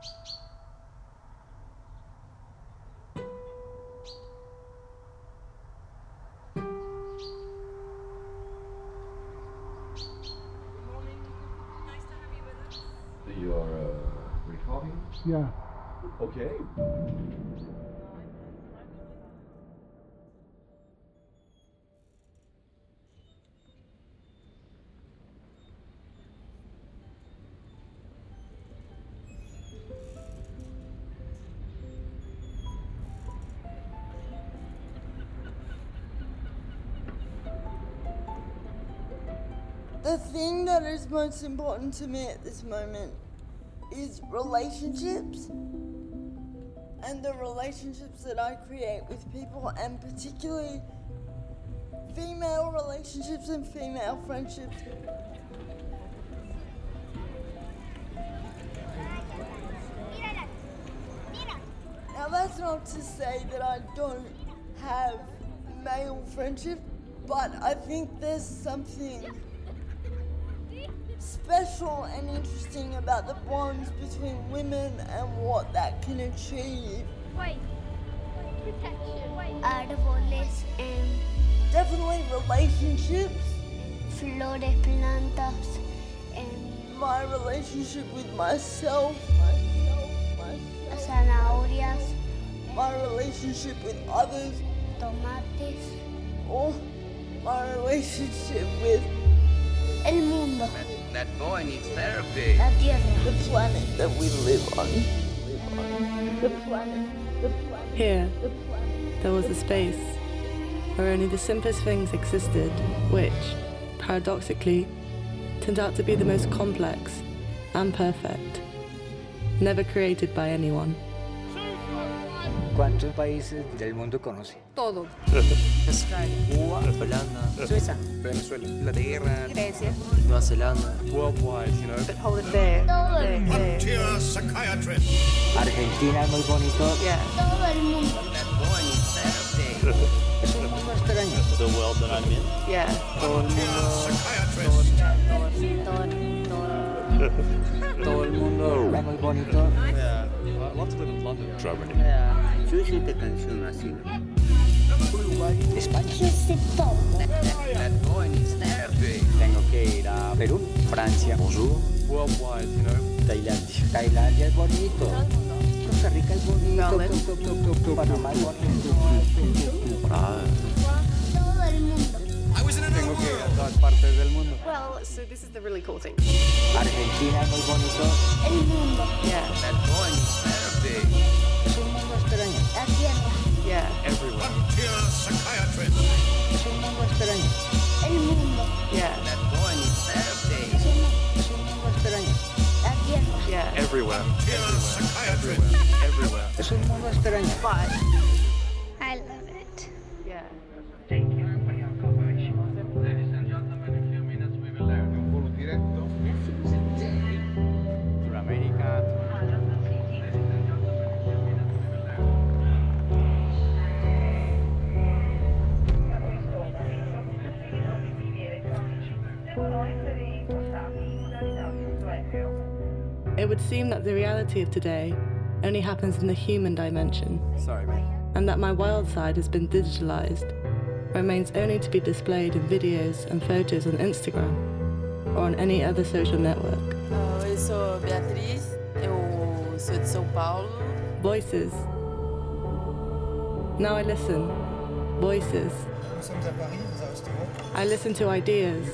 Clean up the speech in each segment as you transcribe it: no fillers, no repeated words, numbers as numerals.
You are recording? Yeah. Okay. The thing that is most important to me at this moment is relationships, and the relationships that I create with people, and particularly female relationships and female friendships. Now that's not to say that I don't have male friendships, but I think there's something special and interesting about the bonds between women and what that can achieve. Árboles, Definitely relationships. flores, plantas, My relationship with myself. zanahorias, My relationship with others. tomates, Or my relationship with el mundo, That boy needs therapy. la tierra. the planet that we live on. The planet. Here, there was a space where only the simplest things existed, which, paradoxically, turned out to be the most complex and perfect, never created by anyone. ¿Cuántos países del mundo conoce? Todo. Australia, Cuba, Holanda, Suiza, Venezuela, Inglaterra, Grecia. Nueva Zelanda, worldwide, you know. But hold it there. Todo el mundo. Argentina es muy bonito. Yeah. Todo el mundo. That boy needs therapy. Es un mundo extraño. The world that I'm in. Yeah. Todo el mundo. Todo el mundo. Es muy bonito. Yeah. I'd love to live in London. Germany. Yo hice esta canción así. España. Yo sé todo. That boy needs therapy. Tengo que ir a Perú, Francia, Bonjour. Worldwide, you know. Tailandia. Tailandia es bonito. Costa Rica es bonito. Panamá es bonito. Todo el mundo. Tengo que ir a todas partes del mundo. Well, so this is the really cool thing. Argentina es muy bonito. El mundo. Yeah. That boy needs therapy. Es un mundo extraño. La tierra. Yeah. Everywhere. Es un mundo extraño. El mundo. Yeah. That boy needs therapy. Es un mundo extraño. La tierra. Yeah. Everywhere. Everywhere. Everywhere. Es un mundo extraño. But I love it. yeah. Sudamérica. It would seem that the reality of today only happens in the human dimension, Sorry, mate. and that my wild side has been digitalized, remains only to be displayed in videos and photos on Instagram or on any other social network. Eu sou Beatriz, eu sou de São Paulo. Voices. Now I listen. Voices. I listen to ideas,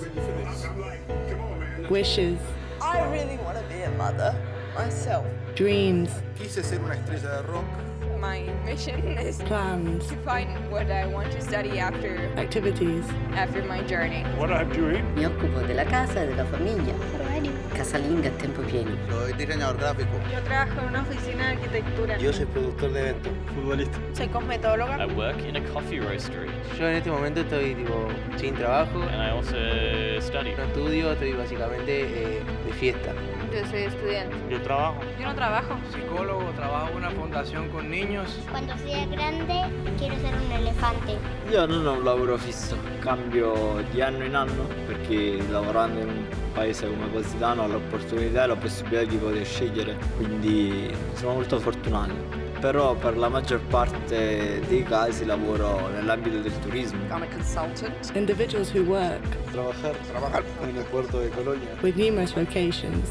wishes, I really want to be a mother myself. dreams, Quise ser una estrella de rock. My mission is plans, to find what I want to study after activities. my journey. What I'm doing? Mi occupo della casa e della famiglia. Casalinga a tempo pieno. Soy diseñador gráfico. Yo trabajo en una oficina de arquitectura. Yo soy productor de eventos. Futbolista. Soy cosmetóloga. I work in a coffee roastery. Yo en este momento estoy sin trabajo. And I also study. No estudio, estoy básicamente de fiesta. Yo soy estudiante. Yo trabajo. Yo no trabajo. Psicólogo, trabajo en una fundación con niños. Cuando sea grande, quiero ser un elefante. Io non ho un lavoro fisso, cambio di anno in anno perché lavorando in un paese come Positano ho l'opportunità e la possibilità di poter scegliere, quindi sono molto fortunato. Però per la maggior parte dei casi lavoro nell'ambito del turismo. I'm a consultant. Individuals who work Trabajar en el puerto de Colonia. with numerous vocations.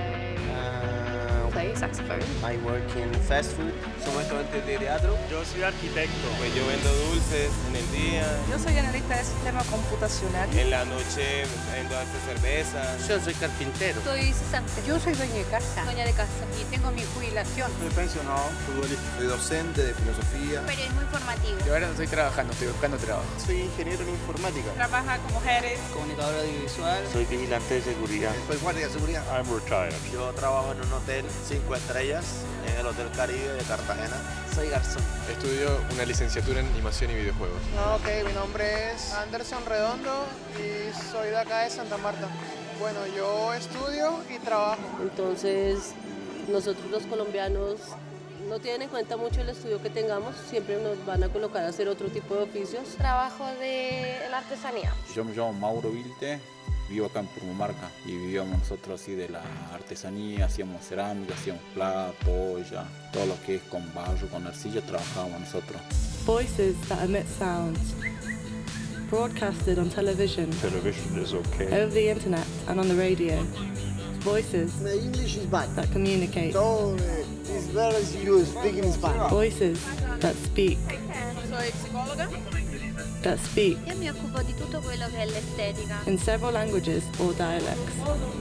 Play saxophone. I work in fast food. Soy estudiante de teatro. Yo soy arquitecto. Pues yo vendo dulces en el día. Yo soy analista de sistema computacional. En la noche vendo cerveza. Yo soy carpintero. Soy cesante. Yo soy dueña de casa. Dueña de casa. Y tengo mi jubilación. Soy pensionado, futbolista. Soy docente de filosofía. Periodismo informativo. Yo ahora no estoy trabajando, estoy buscando trabajo. Soy ingeniero en informática. Trabaja con mujeres. Comunicador audiovisual. Soy vigilante de seguridad. Soy guardia de seguridad. I'm retired. Yo trabajo en un hotel 5 estrellas en el Hotel Caribe de Cartagena. Soy garzón. Estudio una licenciatura en animación y videojuegos. Ok, mi nombre es Anderson Redondo y soy de acá de Santa Marta. Bueno, yo estudio y trabajo. Entonces, nosotros los colombianos no tienen en cuenta mucho el estudio que tengamos, siempre nos van a colocar a hacer otro tipo de oficios. Trabajo de la artesanía. Yo me llamo Mauro Vilte, vivo acá en Purmamarca y vivíamos nosotros así de la artesanía, hacíamos cerámica, hacíamos plato, olla, todo lo que es con barro, con arcilla, trabajábamos nosotros. Voices that emit sounds, broadcasted on television, over the internet and on the radio. Voices My English is bad. that communicate. So it's better if you speak in Spanish. Voices that speak. Soy psicóloga. That speak Io mi occupo di tutto quello che è l'estetica. in several languages or dialects.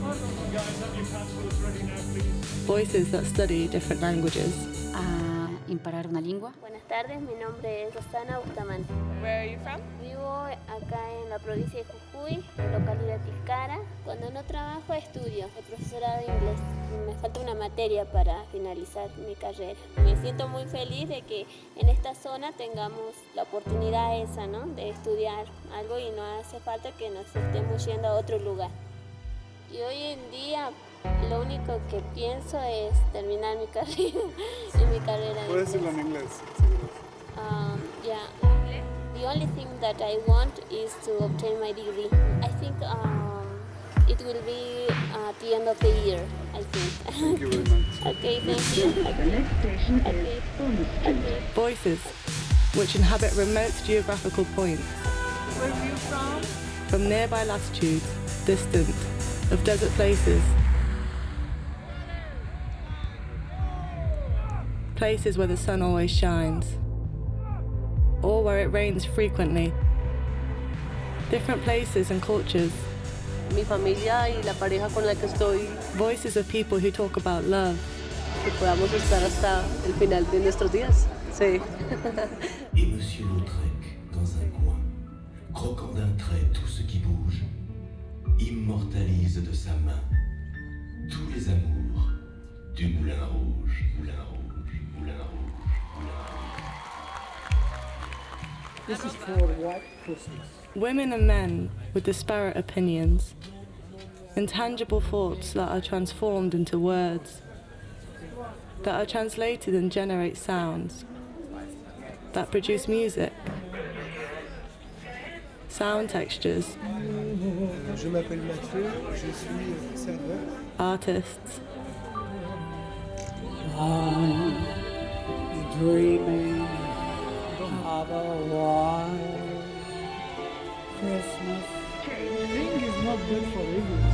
Voices that study different languajes. Imparar una lengua. Buenas tardes, mi nombre es Rosana Bustamante. Where are you from? Vivo acá en la provincia de Jujuy, en la localidad Tilcara. Cuando no trabajo, estudio. Soy profesora de inglés. Me falta una materia para finalizar mi carrera. Me siento muy feliz de que en esta zona tengamos la oportunidad esa, ¿no? De estudiar algo y no hace falta que nos estemos yendo a otro lugar. Y hoy en día lo único que pienso es terminar mi carrera. Mi carrera de Puedes decirlo en inglés. Yeah. The only thing that I want is to obtain my degree. I think it will be at the end of the year, I think. Thank you very much. Okay, thank you. Okay. Voices which inhabit remote geographical points. Where are you from? From nearby latitudes, distant, of desert places. Places where the sun always shines, or where it rains frequently. Different places and cultures. Mi familia y la pareja con la que estoy. Voices of people who talk about love. Que podamos estar hasta el final de nuestros días. Sí. Et Monsieur Lautrec, dans un coin, croquant d'un trait tout ce qui bouge, immortalise de sa main tous les amours du Moulin Rouge, Moulin Rouge, Moulin Rouge, Moulin Rouge. This is for White Christmas. Women and men with disparate opinions. Intangible thoughts that are transformed into words. That are translated and generate sounds. That produce music. Sound textures. Je m'appelle Mathieu, je suis serveur. Artists. I'm dreaming of a white Christmas. Ring is not good for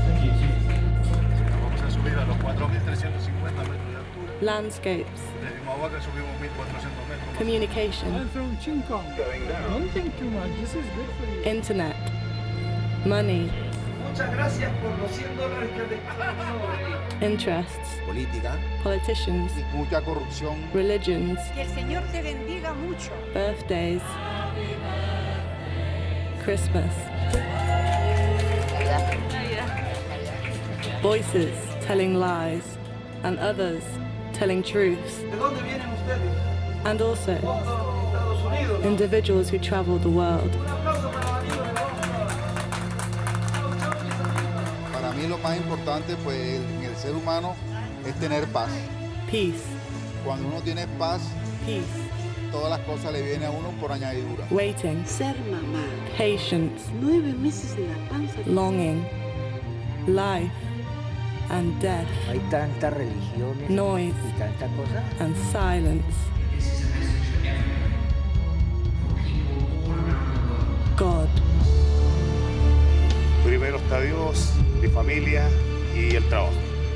Vamos a subir a los 4.350 metros de altura. Landscapes. Desde Humahuaca subimos 1.400 metros. Communication. I'm from Chincon. Don't think too much, this is good for you. Internet. Money. Muchas gracias por los $100 que te Interests. Política. Politicians. Y mucha corrupción. Religions. Que el Señor te bendiga mucho. Birthdays. Christmas. Voices telling lies, and others telling truths. ¿De dónde vienen ustedes? And also Estados Unidos. individuals who travel the world. Para mí lo más importante pues en el ser humano es tener paz. Peace. Cuando uno tiene paz, Peace. todas las cosas le vienen a uno por añadidura. Waiting. Ser mamá. Patience. 9 meses en la panza. Longing. life and death, Hay tantas religiones noise y tanta cosa. and silence. God. Primero está Dios, mi familia y el trabajo.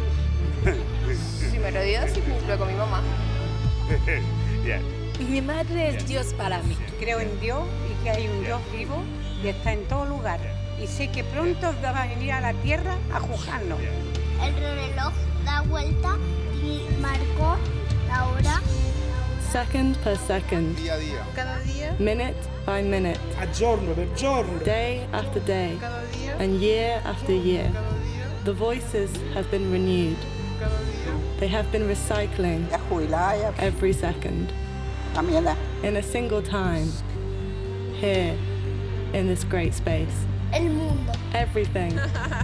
Primero Dios y luego mi mamá. Yeah. Mi madre es Dios para mí. Creo en Dios y que hay un Dios vivo y está en todo lugar. Y sé que pronto va a venir a la tierra a juzgarnos. El reloj da vuelta y marcó la hora. Second per second. Día a día. Cada día. Minute by minute. A giorno per giorno. Day after day. Cada día. And year after year. The voices have been renewed. They have been recycling every second. In a single time. Here, in this great space. El mundo. Everything.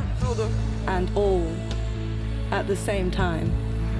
And all. At the same time.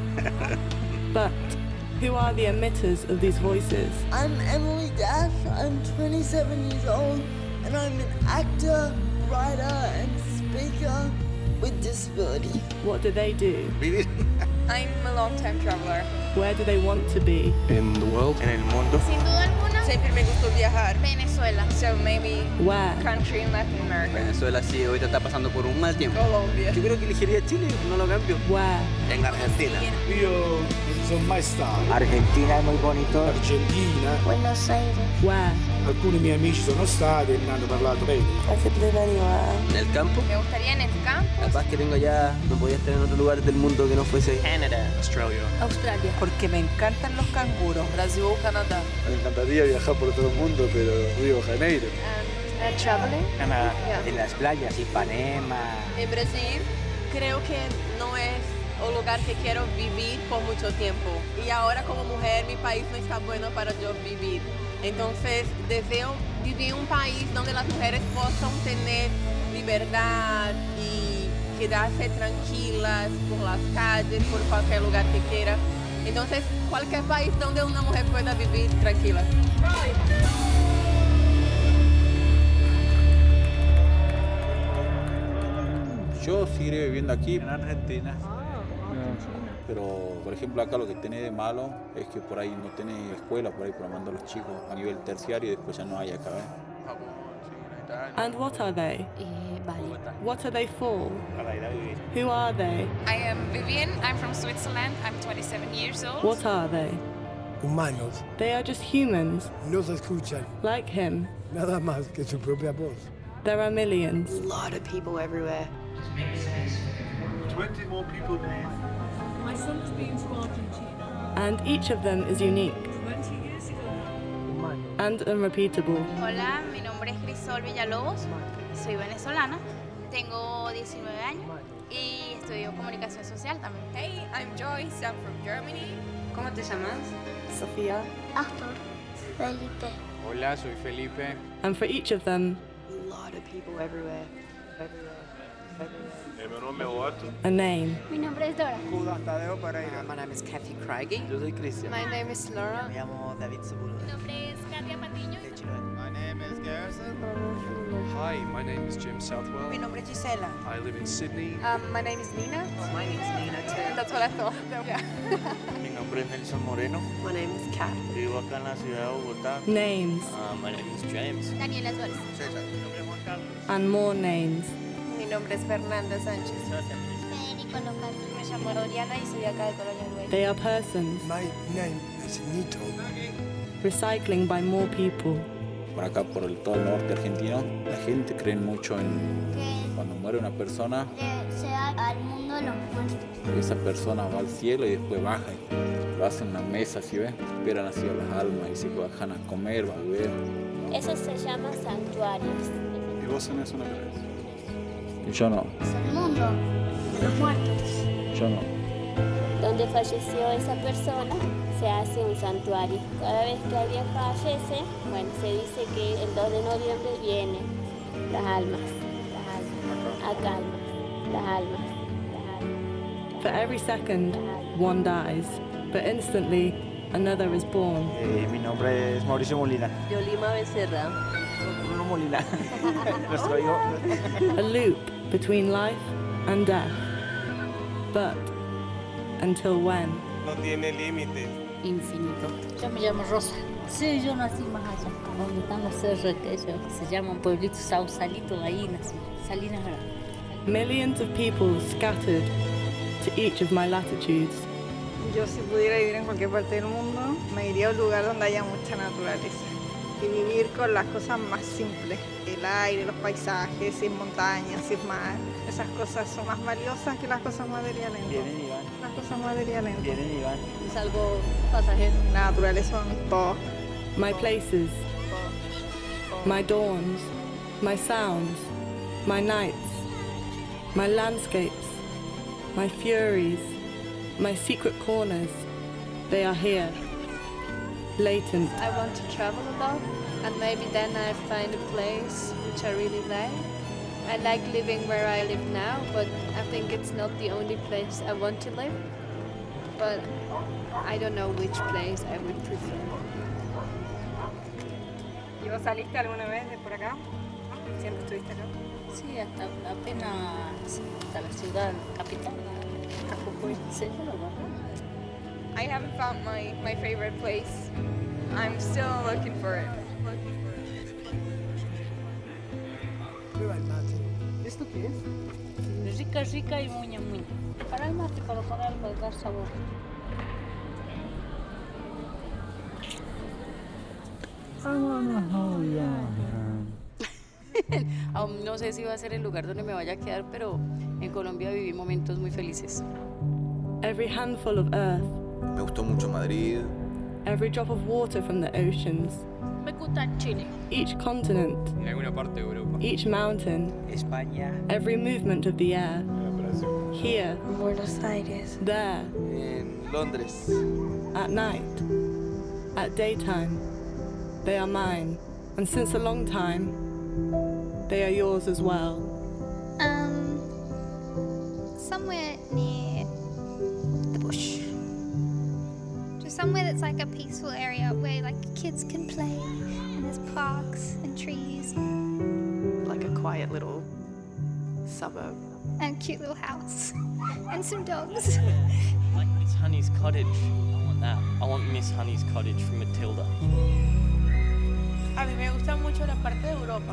But who are the emitters of these voices? I'm Emily Dash. I'm 27 years old, and I'm an actor, writer, and speaker with disability. What do they do? I'm a long-time traveler. Where do they want to be? In the world. En el mundo. Sin duda alguna. Siempre me gustó viajar. Venezuela. So maybe Where? country in Latin America. Venezuela sí, ahorita está pasando por un mal tiempo. Colombia. Yo creo que elegiría Chile, no lo cambio. Where? En Argentina. Io non sono mai stato. Argentina es muy bonito. Argentina. Buenos Aires. Where? Alcuni miei amici sono stati e mi hanno parlato bene. I could live anywhere. En el campo. Me gustaría en el campo. Capaz que tengo allá, no podía estar en otro lugar del mundo que no fuese Canadá. Australia. Australia. Porque me encantan los canguros. Brasil o Canadá. Me encantaría viajar por todo el mundo, pero Río de Janeiro. Traveling. Canadá. En las playas, Ipanema. En Brasil creo que no es un lugar que quiero vivir por mucho tiempo. Y ahora como mujer mi país no está bueno para yo vivir. Entonces deseo vivir en un país donde las mujeres puedan tener libertad y quedarse tranquilas por las calles, por cualquier lugar que quiera. Entonces cualquier país donde una mujer pueda vivir tranquila. Yo seguiré viviendo aquí. En Argentina. Pero, por ejemplo, acá lo que tiene de malo es que por ahí no tiene escuela, por ahí para mandar a los chicos a nivel terciario y después ya no hay acá. And what are they? Bali. What are they for? Para ir a vivir. Who are they? I am Vivian. I'm from Switzerland. I'm 27 years old. What are they? Humanos. They are just humans, No se escuchan like him. nada más que su propia voz. There are millions. A lot of people everywhere. 20 more people leave. My son's been to Argentina And each of them is unique 20 years ago. and unrepeatable. Hola, mi nombre es Crisol Villalobos. Soy venezolana. Tengo 19 años y estudio comunicación social también. Hey, I'm Joyce. I'm from Germany. ¿Cómo te llamas? Sophia. Astor. Felipe. Hola, soy Felipe. And for each of them, A lot of people everywhere. Mi nombre es Eduardo. a name. Mi nombre es Dora. My name is Kathy Craigie. Yo soy Cristian. My name is Laura. Me llamo David Sepúlveda. Mi nombre es Katia Patiño. My name is Garrison. Hi, my name is Jim Southwell. Mi nombre es Gisela. I live in Sydney. My name is Nina. My name is Nina too. That's what I thought. Yeah. Mi nombre es Nelson Moreno. My name is Kat. Vivo acá en la ciudad de Bogotá. Names. My name is James. Daniela Suárez. Mi nombre es Juan Carlos. And more names. Mi nombre es Fernanda Sánchez. Federico Local. Me llamo Oriana y soy acá de Colonia Güey. They are persons, My name is Nito. recycling by more people. Por acá, por todo el norte argentino, la gente cree mucho en Que cuando muere una persona, sea al mundo de los muertos. esa persona va al cielo y después baja. Lo hacen una mesa, ¿sí ves? Esperan así a las almas y se bajan a comer, a beber. Eso se llama santuarios. ¿Y vos en eso no crees? Yo no, Es el mundo de los muertos. yo no. Donde falleció esa persona se hace un santuario. Cada vez que alguien fallece, bueno, se dice que el 2 de noviembre vienen las almas, a calma, las almas. For every second, one dies, but instantly, another is born. Mi nombre es Mauricio Molina. Yolima Becerra. Bruno Molina. Nuestro hijo. A loop between life and death. But until when? No tiene límites. Infinito. Yo me llamo Rosa. Sí, yo nací más allá, donde están los cerros aquellos, que se llaman Pueblito Sausalito, ahí nací, Salinas Grandes. Millions of people scattered to each of my latitudes. Yo si pudiera vivir en cualquier parte del mundo, me iría a un lugar donde haya mucha naturaleza y vivir con las cosas más simples, el aire, los paisajes, sin montañas, sin mar. Esas cosas son más valiosas que las cosas materiales. Vienen y van. Las cosas materiales. Vienen y van. Es algo pasajero. La naturaleza es todo. My places, my dawns, my sounds, my nights, my landscapes, my furies, my secret corners, they are here, latent. I want to travel a lot, and maybe then I find a place which I really like. I like living where I live now, but I think it's not the only place I want to live. But I don't know which place I would prefer. ¿Y vos saliste alguna vez de por acá? ¿Siempre estuviste acá? Sí, hasta la ciudad capital, a Jujuy. Sí, I haven't found my favorite place. I'm still looking for it. Prueba el mate. ¿Esto qué es? Rica, rica y muña, muña. Para el mate, para dar sabor. Aún no sé si va a ser el lugar donde me vaya a quedar, pero en Colombia viví momentos muy felices. Every handful of earth. Me gustó mucho Madrid. Every drop of water from the oceans. Me gusta Chile. Each continent. En alguna parte de Europa. Each mountain. España. Every movement of the air. Here. Buenos Aires. There. En Londres. At night. At daytime. They are mine. And since a long time, they are yours as well. Somewhere near the bush. Just somewhere that's like a peaceful area where like kids can play and there's parks and trees. Like a quiet little suburb. And a cute little house. And some dogs. Like Miss Honey's cottage. I want that. I want Miss Honey's cottage from Matilda. A mí me gusta mucho la parte de Europa.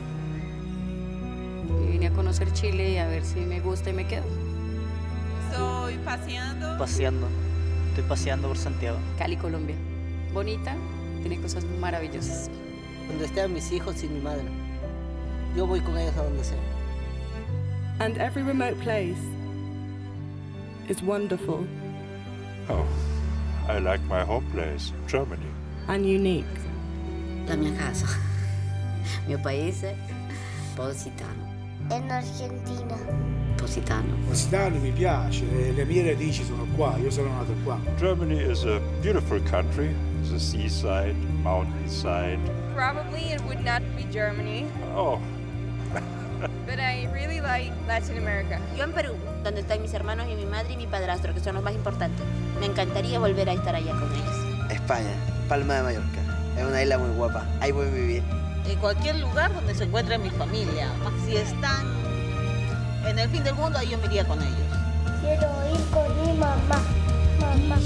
Y vine a conocer Chile y a ver si me gusta y me quedo. Estoy paseando. Estoy paseando por Santiago. Cali, Colombia. Bonita, tiene cosas maravillosas. Donde estén mis hijos y mi madre. Yo voy con ellos a donde sea. And every remote place is wonderful. Oh, I like my home place, Germany. And unique. La mia casa. Mio paese, Positano. In Argentina. Positano. Positano mi piace, le mie radici sono qua, io sono nato qua. Germany is a beautiful country. The seaside, mountainside. Probably it would not be Germany. Oh. But I really like Latin America. Yo en Perú, donde están mis hermanos y mi madre y mi padrastro, que son los más importantes. Me encantaría volver a estar allá con ellos. España, Palma de Mallorca. Es una isla muy guapa, ahí voy a vivir. En cualquier lugar donde se encuentre mi familia. Si están en el fin del mundo, ahí yo me iría con ellos. Quiero ir con mi mamá. Mamá.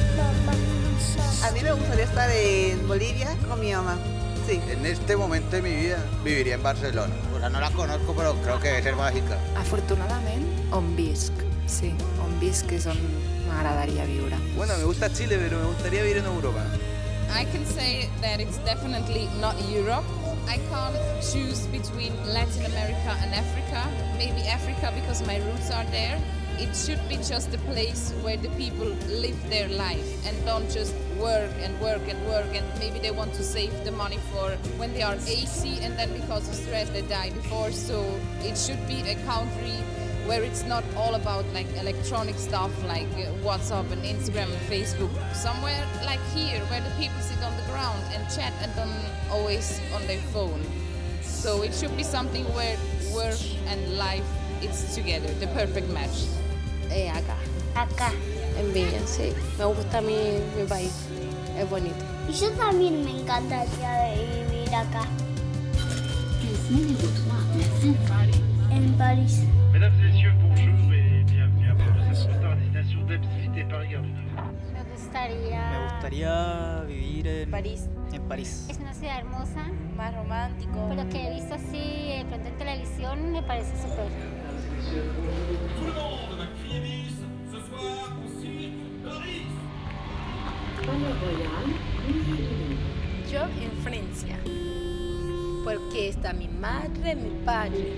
A mí me gustaría estar en Bolivia con mi mamá. Sí. En este momento de mi vida viviría en Barcelona. Bueno, no la conozco, pero creo que debe ser mágica. Afortunadament, on visc. Sí, on visc és on m'agradaria viure. Bueno, me gusta Chile, pero me gustaría vivir en Europa. I can say that it's definitely not Europe. I can't choose between Latin America and Africa. Maybe Africa because my roots are there. It should be just a place where the people live their life and don't just work and work and work, and maybe they want to save the money for when they are 80 and then because of stress they die before. So it should be a country where it's not all about like electronic stuff like WhatsApp and Instagram and Facebook. Somewhere like here where the people sit on the ground and chat and don't always on their phone. So it should be something where work and life it's together, the perfect match. Acá. En Villa, sí. Me gusta mi país. Es bonito. Y yo también me encantaría vivir acá. En París. Mesdames et messieurs, bonjour et gustaría? Me gustaría vivir en París. En París. Es una ciudad hermosa. Más romántico. Por lo que he visto así, de pronto en televisión, me parece súper. Yo en Francia, porque está mi madre, mi padre.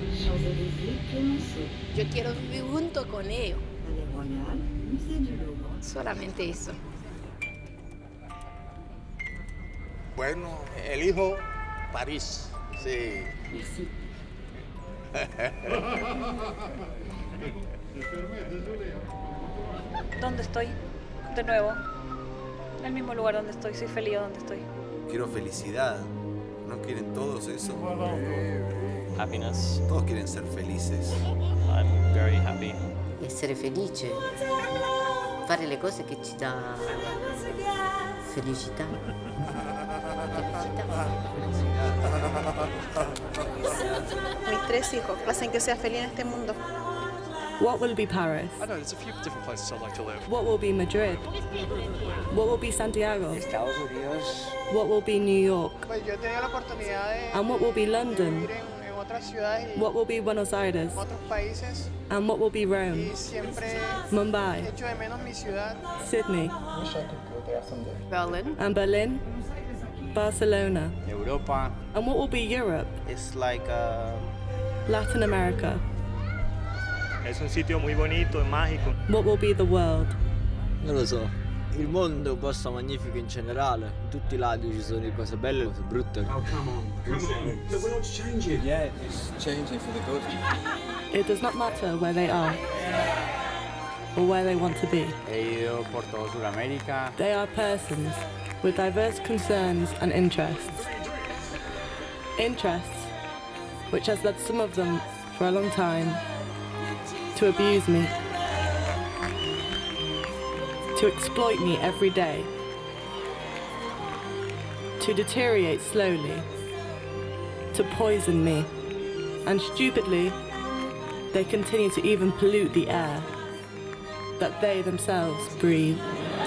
Yo quiero vivir junto con ellos. Solamente eso. Bueno, elijo París, sí. ¿Dónde estoy? De nuevo. En el mismo lugar donde estoy. Soy feliz donde estoy. Quiero felicidad. ¿No quieren todos eso? Happiness. Todos quieren ser felices. I'm very happy. Essere felice. Fare le cose che ci dà felicità. Mis 3 hijos hacen que sea feliz en este mundo. What will be Paris? I know, there's a few different places I'd like to live. What will be Madrid? What will be Santiago? Estados Unidos. What will be New York? Pues yo he tenido la oportunidad de And what will be London? vivir en otras ciudades y What will be Buenos Aires? otros países. And what will be Rome? Y siempre Mumbai? echo de menos mi ciudad. Sydney? Berlin. And Berlin? Barcelona? Europa. And what will be Europe? It's like Latin America? Es un sitio muy bonito e magico. What will be the world? Non lo so. Il mondo è un posto magnifico in generale. In tutti i lati ci sono cose belle e cose brutte. Oh, come on. The world's changing. Yeah, it's changing for the good. It does not matter where they are or where they want to be. He ido por todo Sudamérica. They are persons with diverse concerns and interests. Interests which has led some of them for a long time to abuse me, to exploit me every day, to deteriorate slowly, to poison me, and stupidly, they continue to even pollute the air that they themselves breathe.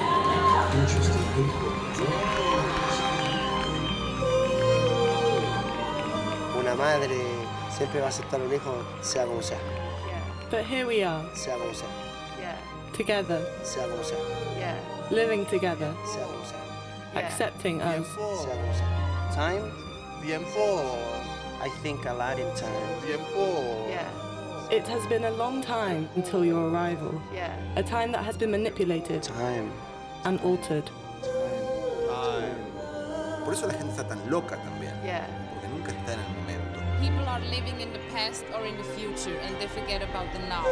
Una madre siempre va a aceptar a un hijo, sea como sea. But here we are, Sea como sea. together, Sea como sea. living together, Sea como sea. accepting us. Sea como sea. Time? Tiempo. I think a lot in time. Tiempo. It has been a long time until your arrival, a time that has been manipulated Time. and altered. Por eso la gente está tan loca también. Porque nunca está en el momento. People are living in the past or in the future and they forget about the now.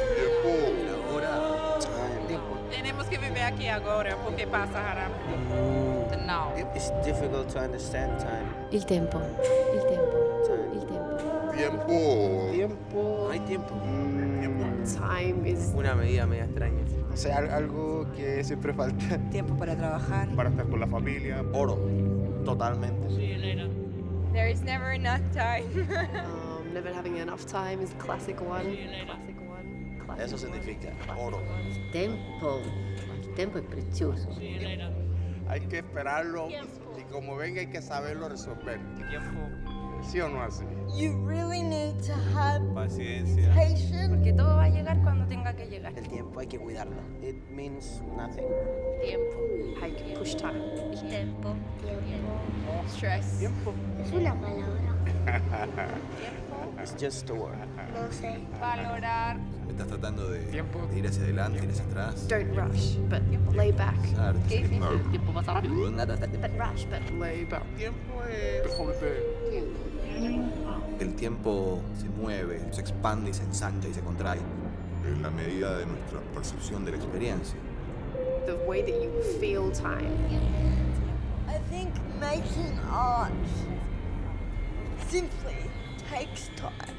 Tenemos que vivir aquí ahora porque pasa rápido. The now. It's difficult to understand time. Il tempo. Il tempo. Il tempo. Tiempo. Tiempo. No hay tiempo. Time is Una medida media extraña. O sea, algo que siempre falta. Tiempo para trabajar. Para estar con la familia. Oro. Totalmente. There is never enough time. Never having enough time is a classic one. Eso significa oro. Tempo. Il tempo è prezioso. Hay que esperarlo y como venga hay que saberlo resolver. ¿Sí o no así? You really need to have Paciencia. patience. Porque todo va a llegar cuando tenga que llegar. El tiempo hay que cuidarlo. It means nothing. Tiempo. Hay que push time. El tiempo. Stress. Tiempo. Es una palabra. It's just a word. No sé. Valorar. Estás tratando de ir hacia adelante, ir hacia atrás. Don't rush, but lay back. Claro. Tiempo pasa rápido. But rush, but lay back. Tiempo es El tiempo se mueve, se expande y se ensancha y se contrae. En la medida de nuestra percepción de la experiencia. The way that you feel time. I think making art simply takes time.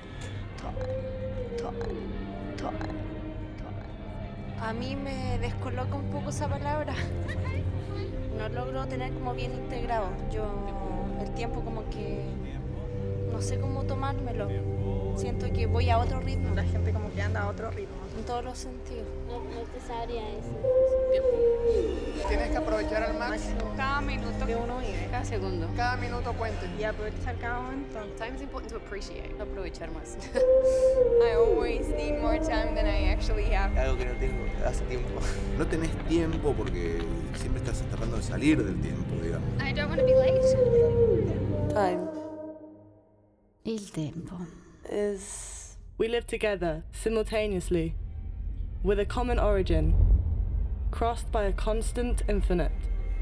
A mí me descoloca un poco esa palabra. No logro tener como bien integrado. Yo el tiempo como que no sé cómo tomármelo. Siento que voy a otro ritmo. La gente como que anda a otro ritmo. En todos los sentidos. No te sabría eso. Tienes aprovechar al máximo cada minuto que uno vive. Cada segundo. cada minuto cuente. Y aprovechar cada momento. Time is important to appreciate. Aprovechar más. I always need more time than I actually have. Algo que no tengo hace tiempo. No tenés tiempo porque siempre estás tratando de salir del tiempo, digamos. I don't want to be late. Time Il tempo. is we live together simultaneously with a common origin, crossed by a constant infinite.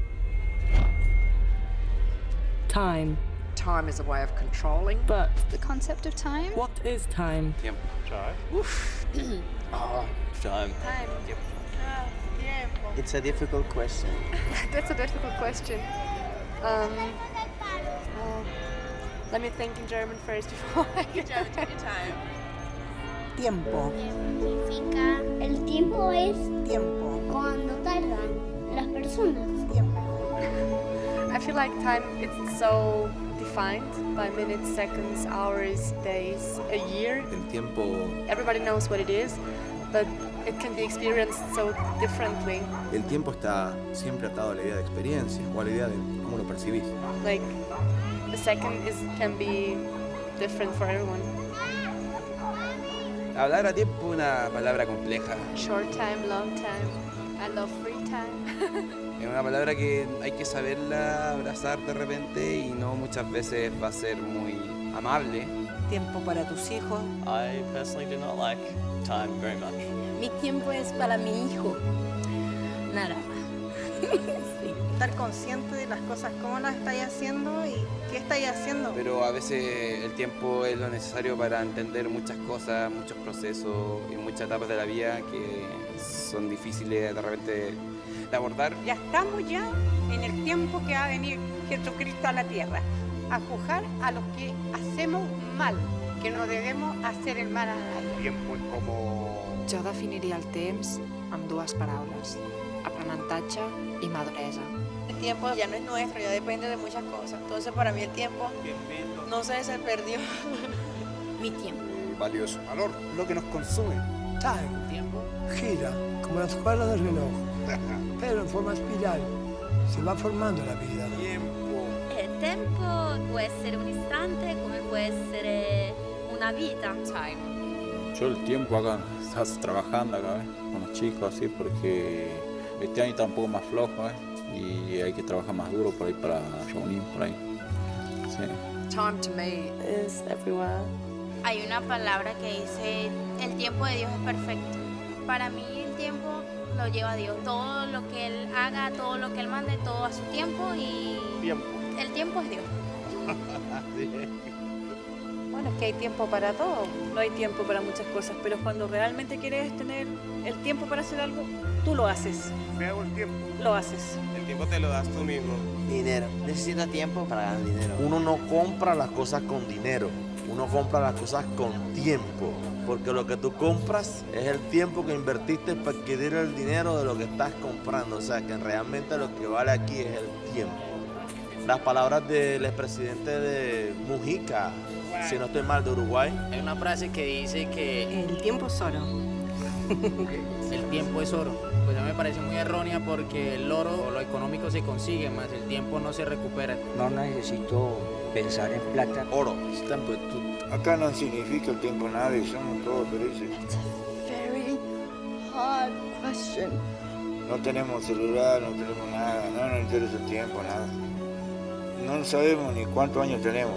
Time. Time is a way of controlling. But The concept of time? what is time? Tiempo. Time. Time. Time. Tiempo. It's a difficult question. That's a difficult question. Let me think in German first before I get German, take your time. Tiempo. Significa el tiempo es Tiempo. cuando tardan las personas. Tiempo. I feel like time it's so defined by minutes, seconds, hours, days, a year. El tiempo Everybody knows what it is, but it can be experienced so differently. El tiempo está siempre atado a la idea de experiencia o a la idea de cómo lo percibís. Like a second can be different for everyone. Hablar a tiempo es una palabra compleja. Short time, long time. I love free time. Es una palabra que hay que saberla abrazar de repente y no muchas veces va a ser muy amable. Tiempo para tus hijos. I personally do not like time very much. Mi tiempo es para mi hijo. Nada más. Estar consciente de las cosas, cómo las estáis haciendo y qué estáis haciendo. Pero a veces el tiempo es lo necesario para entender muchas cosas, muchos procesos y muchas etapas de la vida que son difíciles de repente de abordar. Ya estamos ya en el tiempo que va a venir Jesucristo a la tierra, a juzgar a los que hacemos mal, que no debemos hacer el mal a nadie. Tiempo es como... Jo definiria el temps amb dues paraules, aprenentatge i maduresa. El tiempo ya no es nuestro, ya depende de muchas cosas. Entonces para mí el tiempo, no sé, se perdió. Mi tiempo. Valioso. Valor. Lo que nos consume. Time. Tiempo. Gira como la escuela del reloj, pero en forma espiral. Se va formando la vida. Tiempo. El tiempo puede ser un instante, como puede ser una vida. Time. Yo el tiempo acá, estás trabajando acá, con los chicos así, porque este año está un poco más flojo, y hay que trabajar más duro por ahí para reunir por ahí. Sí. Time to me is everywhere. Hay una palabra que dice, el tiempo de Dios es perfecto. Para mí el tiempo lo lleva Dios. Todo lo que Él haga, todo lo que Él mande, todo a su tiempo y Tiempo. el tiempo es Dios. Bueno, es que hay tiempo para todo. No hay tiempo para muchas cosas, pero cuando realmente quieres tener el tiempo para hacer algo, tú lo haces. Me hago el tiempo. Lo haces. El tiempo te lo das tú mismo. Dinero. Necesita tiempo para ganar dinero. Uno no compra las cosas con dinero. Uno compra las cosas con tiempo. Porque lo que tú compras es el tiempo que invertiste para adquirir el dinero de lo que estás comprando. O sea, que realmente lo que vale aquí es el tiempo. Las palabras del expresidente de Mujica, si no estoy mal, de Uruguay. Hay una frase que dice que el tiempo es oro. El tiempo es oro. Pues a mí me parece muy errónea porque el oro o lo económico se consigue, más el tiempo no se recupera. No necesito pensar en plata. Oro. Acá no significa el tiempo nada y somos todos felices. Very hard question. No tenemos celular, no tenemos nada, no nos interesa el tiempo, nada. No sabemos ni cuántos años tenemos.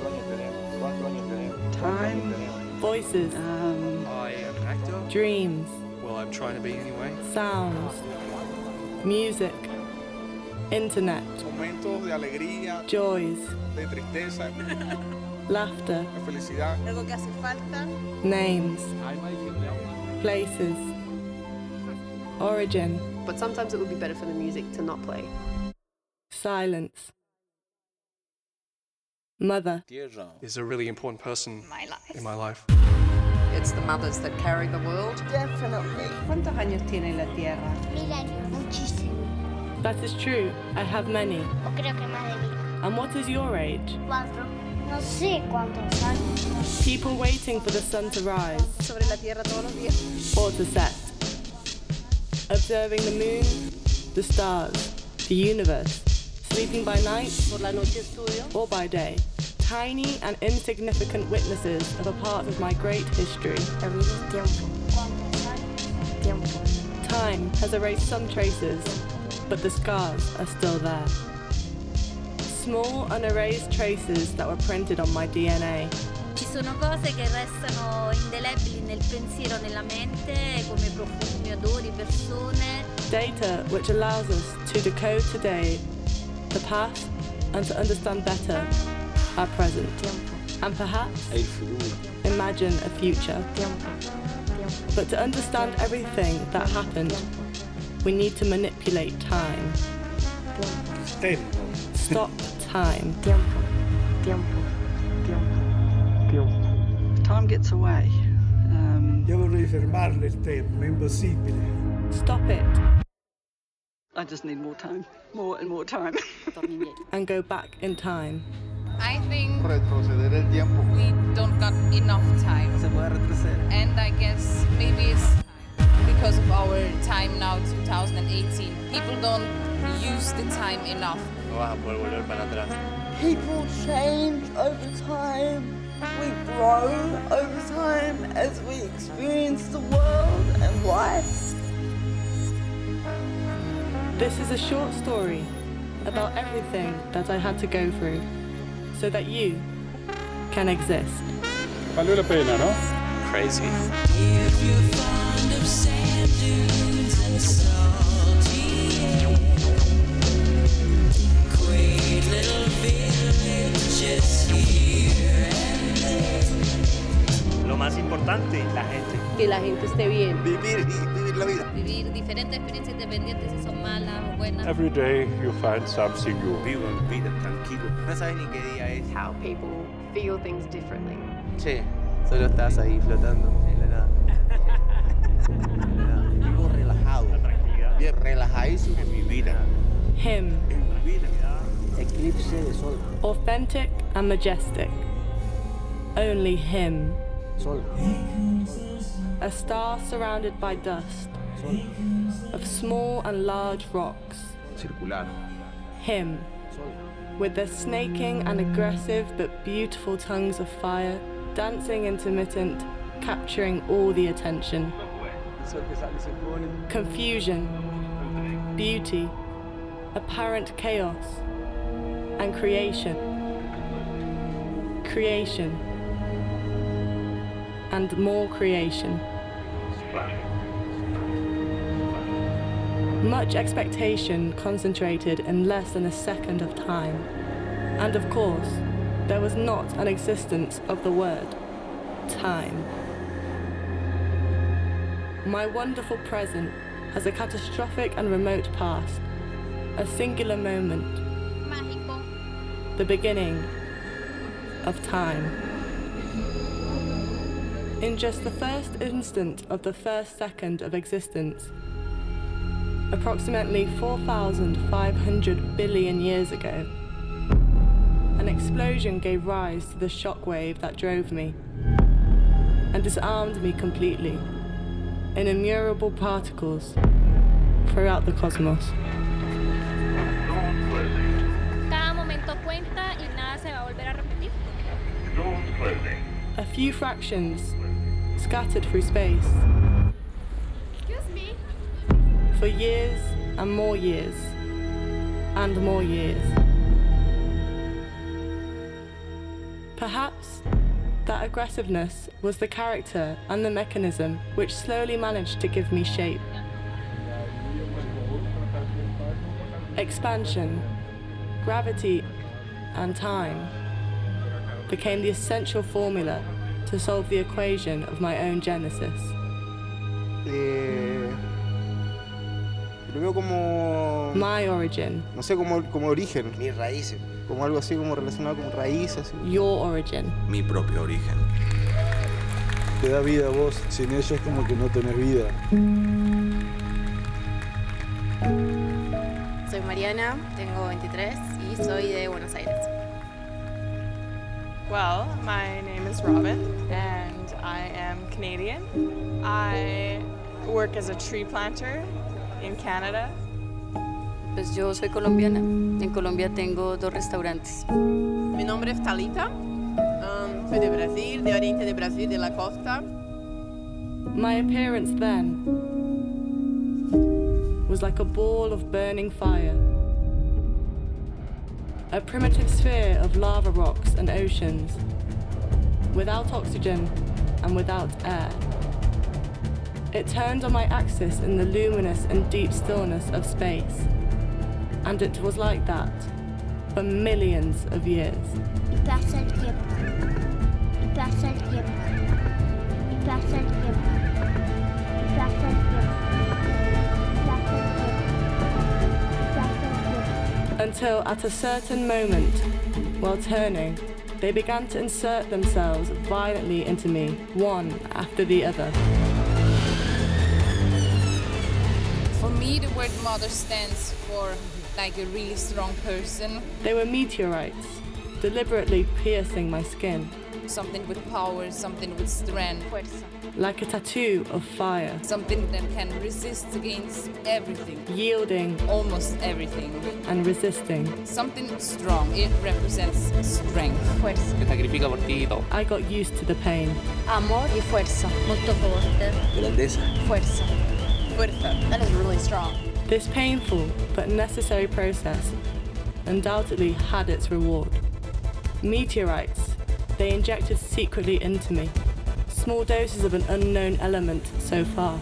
Time. Voices. I am an actor. Dreams. Well, I'm trying to be anyway. Sounds. Music. Internet. Momentos de alegría. Joys. De tristeza. Laughter. De felicidad. Algo que hace falta. Names. Places. Origin. But sometimes it would be better for the music to not play. Silence. Mother. Is a really important person in my life. It's the mothers that carry the world. Definitely. ¿Cuántos años tiene la Tierra? 1000 años, muchísimo. That is true. I have many. O creo que más de 1000. And what is your age? 4. No sé cuántos años. People waiting for the sun to rise. Sobre la Tierra todos los días. Or to set. Observing the moon, the stars, the universe, sleeping by night Por la noche estudio. or by day, tiny and insignificant witnesses of a part of my great history. Time has erased some traces, but the scars are still there. Small unerased traces that were printed on my DNA. Ci sono cose che restano indelebili nel pensiero, nella mente, come profumi, odori, persone. Data which allows us to decode today, the past, and to understand better our present. And perhaps imagine a future. But to understand everything that happened, we need to manipulate time. Stop time. Time gets away. Io vorrei fermarle il tempo, ma è impossibile. Stop it. I just need more time. More and more time. And go back in time. I think retroceder el tiempo. we don't got enough time. Se puede retroceder. And I guess maybe it's because of our time now, 2018. People don't use the time enough. No vas a poder volver para atrás. People change over time. We grow over time as we experience the world and life. This is a short story about everything that I had to go through so that you can exist. Valió la pena, ¿no? Crazy. If you're fond of sand dunes and salty air, quaint little villages here and there. Lo más importante, la gente. Que la gente esté bien. Vivir la vida. Vivir diferentes experiencias independientes, si son malas o buenas. Every day you find something new. Vivan vida tranquilo. No sabes ni qué día es. How people feel things differently. Che, solo estás ahí flotando en la nada. Vivo relajado. La tranquilidad. Bien relajadísimo en mi vida. Him. En mi vida. Eclipse de sol. Authentic and majestic. Only him. Sol. A star surrounded by dust. Sol. Of small and large rocks. Circular. Him. Sol. With their snaking and aggressive but beautiful tongues of fire, dancing intermittent, capturing all the attention. Confusion, beauty, apparent chaos, and creation. Creation. And more creation. Much expectation concentrated in less than a second of time. And of course, there was not an existence of the word time. My wonderful present has a catastrophic and remote past, a singular moment, Mágico. the beginning of time. In just the first instant of the first second of existence, approximately 4,500 billion years ago, an explosion gave rise to the shockwave that drove me and disarmed me completely in innumerable particles throughout the cosmos. Cada momento cuenta y nada se va a volver a repetir. A few fractions scattered through space Excuse me. for years and more years and more years. Perhaps that aggressiveness was the character and the mechanism which slowly managed to give me shape. Expansion, gravity, and time became the essential formula to solve the equation of my own genesis. Lo veo como... My origin. No sé, como origen. Mis raíces. Como algo así, como relacionado con raíces. Your origin. Mi propio origen. Te da vida a vos, sin ellos como que no tenés vida. Soy Mariana, tengo 23 y soy de Buenos Aires. Well, my name is Robin and I am Canadian. I work as a tree planter in Canada. Pues yo soy colombiana. En Colombia tengo 2 restaurantes. Mi nombre es Talita. Soy de Brasil, de oriente de Brasil, de la costa. My appearance then was like a ball of burning fire. A primitive sphere of lava rocks and oceans, without oxygen and without air. It turned on my axis in the luminous and deep stillness of space. And it was like that for millions of years. Y pasa el tiempo. Y pasa el tiempo. Y pasa el tiempo. Y pasa el tiempo. Y pasa el tiempo. Y pasa el tiempo. Until at a certain moment, while turning, they began to insert themselves violently into me, one after the other. For me, the word mother stands for like a really strong person. They were meteorites, deliberately piercing my skin. Something with power, something with strength. Like a tattoo of fire. Something that can resist against everything. Yielding. Almost everything. And resisting. Something strong. It represents strength. Fuerza. Se sacrifica por ti y todo. I got used to the pain. Amor y fuerza. Molto forte. Grandeza. Fuerza. Fuerza. That is really strong. This painful but necessary process undoubtedly had its reward. Meteorites, they injected secretly into me. Small doses of an unknown element so far.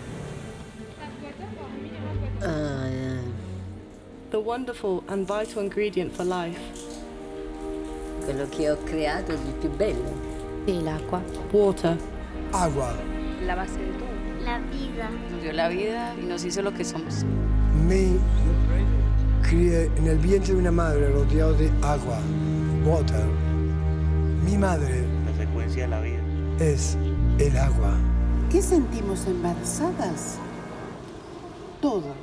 The wonderful and vital ingredient for life. Quello che ho creato di più bello. Sí, el agua. Water. Agua. La base de todo. La vida. Nos dio la vida y nos hizo lo que somos. Me crié en el vientre de una madre rodeado de agua, water. Mi madre La secuencia de la vida. es el agua. ¿Qué sentimos embarazadas? Todo.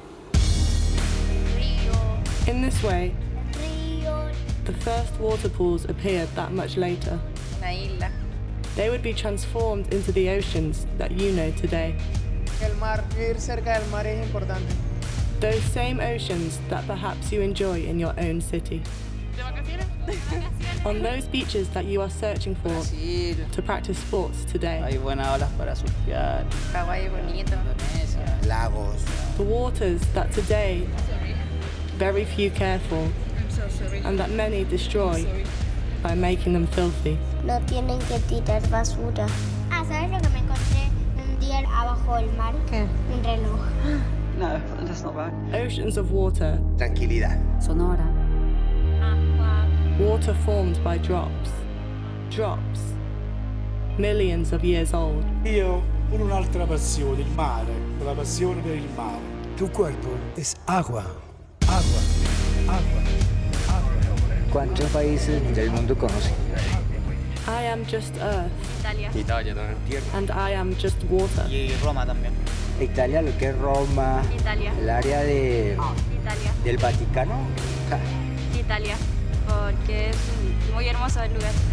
In this way, Río. the first water pools appeared that much later. Una isla. They would be transformed into the oceans that you know today. El mar, vivir cerca del mar es importante. Those same oceans that perhaps you enjoy in your own city. ¿De vacaciones? On those beaches that you are searching for Brasil. to practice sports today. Hay buenas olas para surfear. Hawái bonito. Indonesia. Lagos. The waters that today very few care for I'm so sorry. and that many destroy by making them filthy. No tienen que tirar basura. Ah, ¿sabes lo que me encontré un día abajo del mar? ¿Qué? Un reloj. No, that's not right. Oceans of water, Tranquilidad. Sonora. Acqua. water formed by drops. Drops. Millions of years old. Io ho pure un'altra passione, il mare, la passione per il mare. Tu cuerpo es agua, agua, agua, agua. ¿Cuántos países del mundo conoces? I am just earth Italia. Italia también. Tierra. and I am just water. Y Roma también. Italia, lo que es Roma, Italia. el área Italia. del Vaticano. Ja. Italia. Porque es muy hermoso el lugar.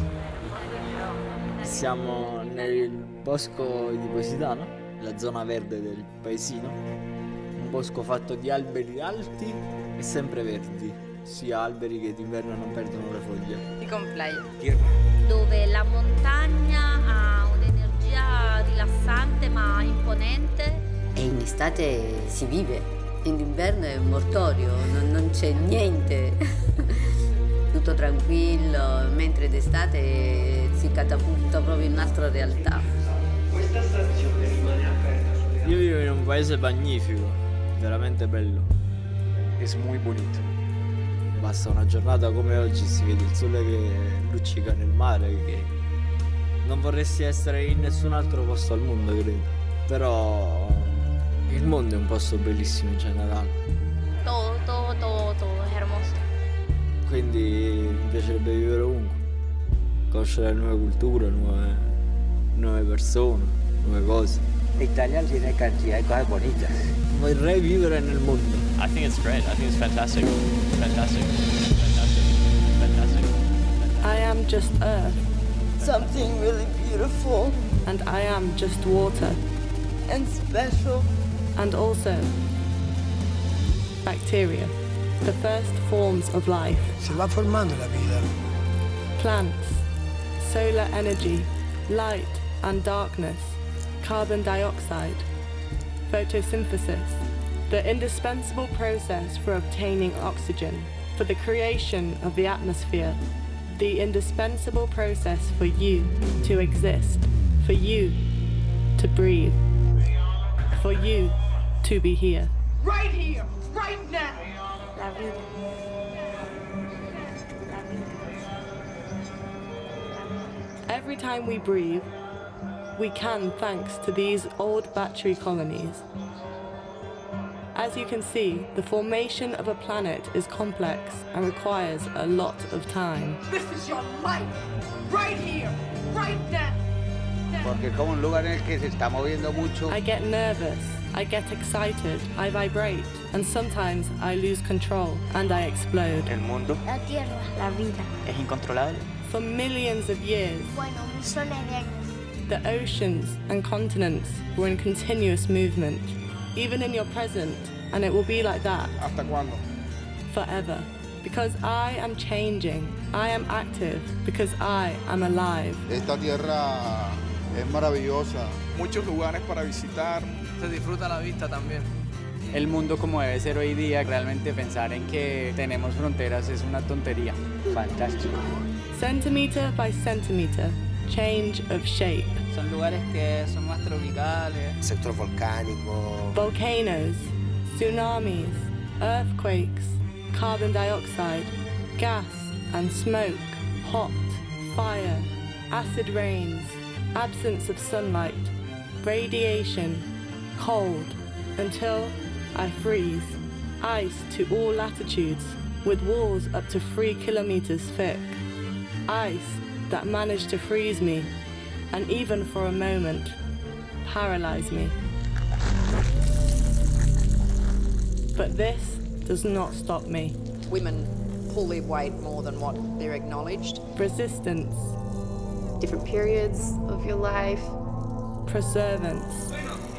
Siamo nel bosco di Positano, la zona verde del paesino. Un bosco fatto di alberi alti e sempre verdi, sia alberi che d'inverno non perdono le foglie. Y con playa. Dove la montagna ha un'energia rilassante ma imponente. E in estate si vive, in inverno è mortorio, non c'è niente. Tutto tranquillo, mentre d'estate si catapulta proprio in un'altra realtà. Questa stazione rimane aperta. Io vivo in un paese magnifico, veramente bello. Es muy bonito. Basta una giornata come oggi, si vede il sole che luccica nel mare, che non vorresti essere in nessun altro posto al mondo, credo. Però il mondo è un posto bellissimo in generale. Todo es hermoso. Quindi mi piacerebbe vivere ovunque, conoscere nuove culture, nuove persone, nuove cose. Italia tiene cantidad de cosas bonitas. Vorrei vivere nel mondo. I think it's great. I think it's fantastic. Fantastic. Fantastic. Fantastic. I am just earth Something really beautiful and I am just water and special. and also bacteria, the first forms of life. Se va formando la vida. Plants, solar energy, light and darkness, carbon dioxide, photosynthesis, the indispensable process for obtaining oxygen, for the creation of the atmosphere, the indispensable process for you to exist, for you to breathe, for you to be here. Right here, right now. La vida. Every time we breathe, we can thanks to these old battery colonies. As you can see, the formation of a planet is complex and requires a lot of time. This is your life, right here, right now. Porque como un lugar en el que se está moviendo mucho. I get nervous, I get excited, I vibrate, and sometimes I lose control and I explode. El mundo. La tierra. La vida. Es incontrolable. For millions of years, Bueno, millones de años. the oceans and continents were in continuous movement, even in your present, and it will be like that. ¿Hasta cuándo? Forever. Because I am changing, I am active, because I am alive. Esta tierra es maravillosa. Muchos lugares para visitar. Se disfruta la vista también. El mundo como debe ser hoy día, realmente pensar en que tenemos fronteras es una tontería. Fantástico. Centimeter by centimeter, change of shape. Son lugares que son más tropicales. Sector volcánico. Volcanoes, tsunamis, earthquakes, carbon dioxide, gas and smoke, hot, fire, acid rains, absence of sunlight, radiation, cold, until I freeze. Ice to all latitudes, with walls up to 3 kilometers thick. Ice that managed to freeze me, and even for a moment, paralyze me. But this does not stop me. Women pull their weight more than what they're acknowledged. Resistance. Different periods of your life. Perseverance.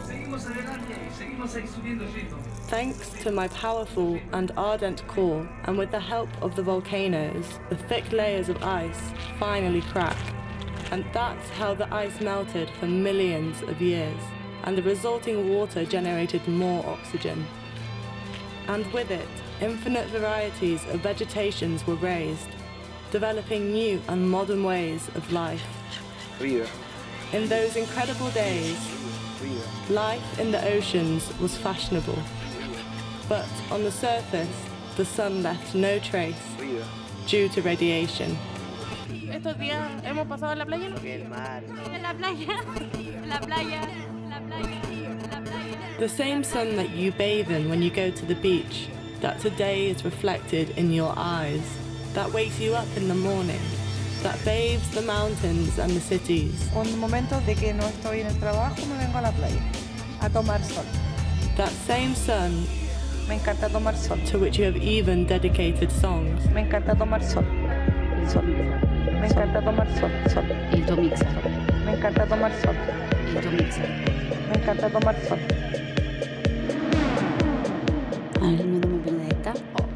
Thanks to my powerful and ardent core, and with the help of the volcanoes, the thick layers of ice finally crack. And that's how the ice melted for millions of years, and the resulting water generated more oxygen. And with it, infinite varieties of vegetations were raised, developing new and modern ways of life. In those incredible days, life in the oceans was fashionable. But on the surface, the sun left no trace due to radiation. Estos días hemos pasado en la playa. El mar. En la playa, la playa, la playa, la playa. The same sun that you bathe in when you go to the beach, that today is reflected in your eyes, that wakes you up in the morning, that bathes the mountains and the cities. Un momento de que no estoy en el trabajo, me vengo a la playa a tomar sol. That same sun, me encanta tomar sol, to which you have even dedicated songs. Me encanta tomar sol. Sol. Me encanta tomar sol. Sol. Il tuo mixer. Me encanta tomar sol. Il tuo mixer. Me encanta tomar sol. Ah, il mio nome è Benedetta.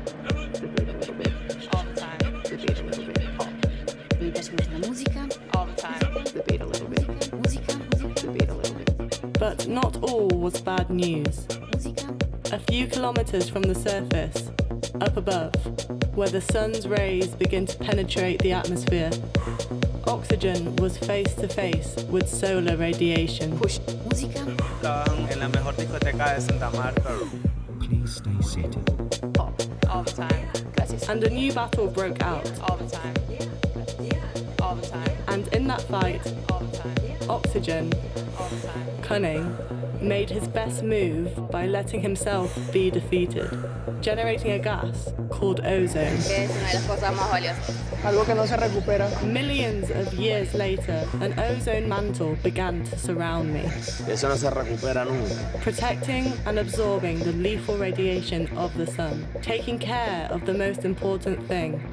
All the time. Mi piace molto la musica. All the time. Musica. But not all was bad news. A few kilometers from the surface, up above, where the sun's rays begin to penetrate the atmosphere, oxygen was face to face with solar radiation. Música. Estaban en la mejor discoteca de Santa Marta. Please stay seated. All the time. Gracias. And a new battle broke out. All the time. All the time. And in that fight, All the time. Oxygen, All the time. cunning, made his best move by letting himself be defeated, generating a gas called ozone. Que es una de las cosas más valiosas. Algo que no se recupera. Millions of years later, an ozone mantle began to surround me, Eso no se recupera nunca. protecting and absorbing the lethal radiation of the sun, taking care of the most important thing,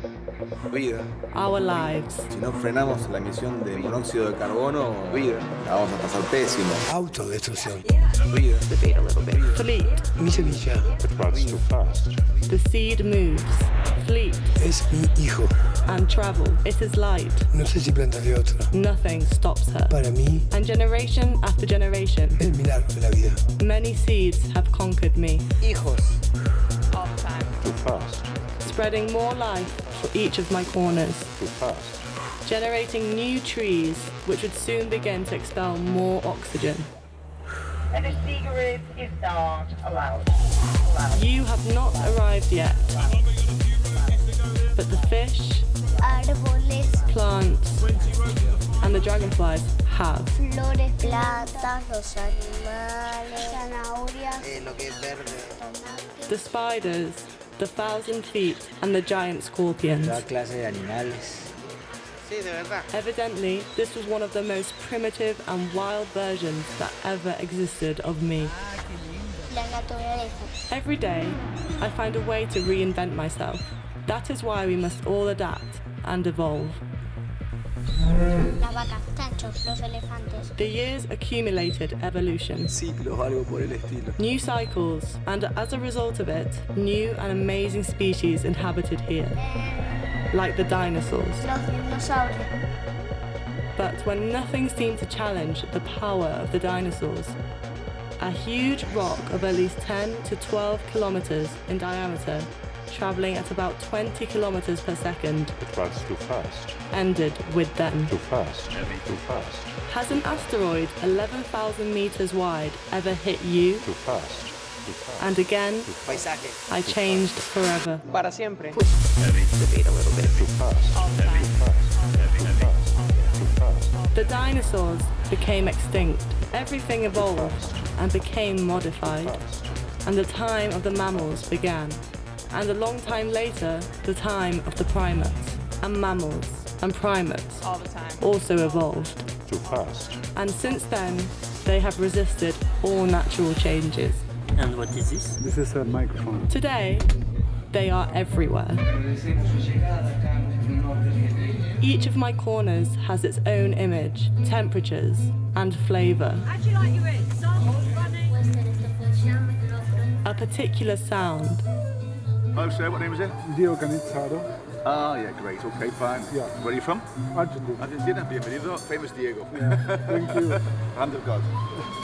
Vida. Our lives. Si no frenamos la emisión de monóxido de carbono, vida, la vamos a pasar pésimo. Autodestrucción. Vida. Debate a little bit. Fleet. Mi semilla. It runs too fast. The seed moves. Fleet. Es mi hijo. And travel. It is light. No sé si plantaré otro. Nothing stops her. Para mí. And generation after generation. El milagro de la vida. Many seeds have conquered me. Hijos. All the time. Too fast. Spreading more life for each of my corners. Too fast. Generating new trees which would soon begin to expel more oxygen. And a cigarette is not allowed. You have not arrived yet. But the fish, árboles, plants, and the dragonflies have. Flores, plantas, los animales, zanahorias, lo que es verde. The spiders, the 1,000 feet, and the giant scorpions. Toda clase de animales. Sí, de verdad. Evidently, this was one of the most primitive and wild versions that ever existed of me. la naturaleza. Every day, I find a way to reinvent myself. That is why we must all adapt and evolve. Las vacas, chanchos, los elefantes. The years accumulated evolution. Ciclos, algo por el estilo. New cycles, and as a result of it, new and amazing species inhabited here. Like the dinosaurs. Los dinosaurios. But when nothing seemed to challenge the power of the dinosaurs, a huge rock of at least 10 to 12 kilometers in diameter, traveling at about 20 kilometers per second, It runs too fast. ended with them. Too fast. Too fast. Has an asteroid 11,000 meters wide ever hit you? Too fast. Too fast. And again, Paisaje. I changed forever. Para siempre. Too fast. Too fast. Too fast. Too fast. The dinosaurs became extinct. Everything evolved and became modified. And the time of the mammals began. And a long time later, the time of the primates. And mammals and primates All the time. also evolved. Too fast. And since then, they have resisted all natural changes. And what is this? This is a microphone. Today, they are everywhere. Each of my corners has its own image, temperatures, and flavor. A particular sound. Hello, sir. What name is it? Dio Canizzaro. Ah, yeah, great. Okay, fine. Yeah. Where are you from? Argentina. Argentina. Bienvenido. Famous Diego. Yeah, thank you. Hand of God.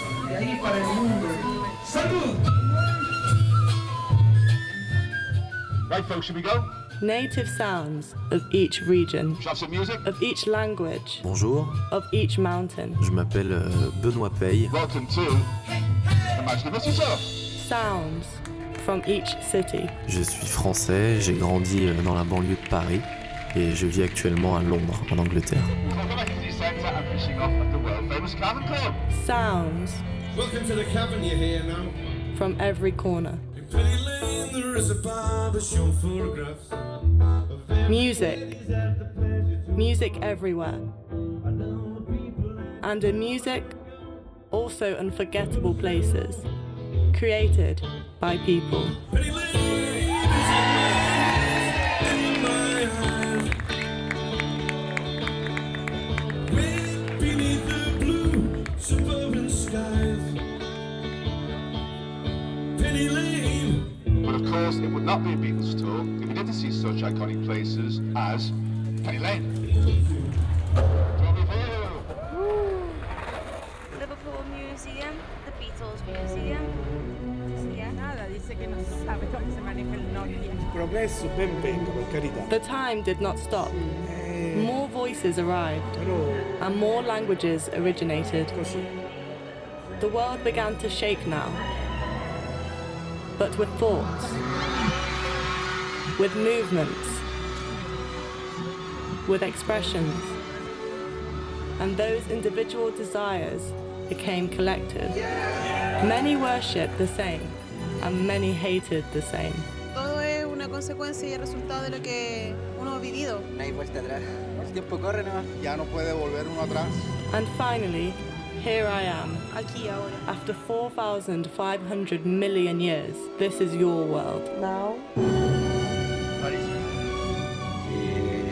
Right, folks, should we go? Native sounds of each region, Shall I have some music? of each language, Bonjour, of each mountain. je m'appelle Benoît Paye. Welcome to Imaginary Show. Sounds from each city. Je suis français, j'ai grandi dans la banlieue de Paris et je vis actuellement à Londres, en Angleterre. Sounds Welcome to the cavern, you're here now. from every corner. In Penny Lane there is a barber showing photographs. Music. Music everywhere. And in music, also unforgettable places, created by people. Penny Lane is in my eyes. Way beneath the blue suburban skies. Penny Lane. But of course, it would not be a Beatles tour if we didn't see such iconic places as Penny Lane. Liverpool Museum, the Beatles Museum. Nada, dice que no sabe cómo se maneja el Nokia. Progresso ben venga, per carità. The time did not stop. More voices arrived, and more languages originated. The world began to shake now, but with thoughts, with movements, with expressions, and those individual desires became collective. Many worshipped the same, and many hated the same. Todo es una consecuencia y el resultado de lo que uno ha vivido. No hay vuelta atrás. El tiempo corre, ¿no? Ya no puede volver uno atrás. And finally, here I am. Aquí ahora. After 4,500 million years, this is your world. Now.